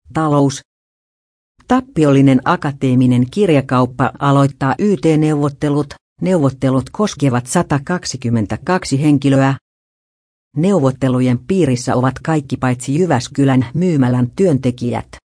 Talous. Tappiollinen akateeminen kirjakauppa aloittaa YT-neuvottelut. Neuvottelut koskevat 122 henkilöä. Neuvottelujen piirissä ovat kaikki paitsi Jyväskylän myymälän työntekijät.